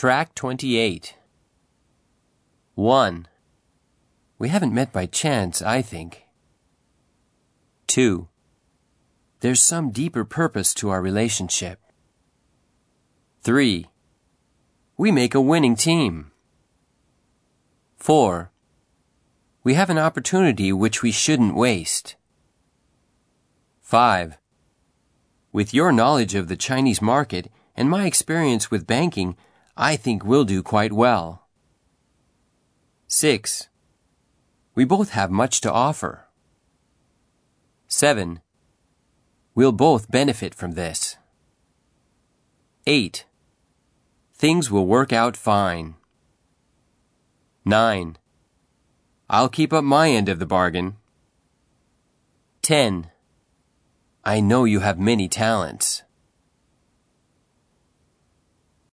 Track 28. 1. We haven't met by chance, I think. 2. There's some deeper purpose to our relationship. 3. We make a winning team. 4. We have an opportunity which we shouldn't waste. 5. With your knowledge of the Chinese market and my experience with banking, I think we'll do quite well. 6. We both have much to offer. 7. We'll both benefit from this. 8. Things will work out fine. 9. I'll keep up my end of the bargain. 10. I know you have many talents.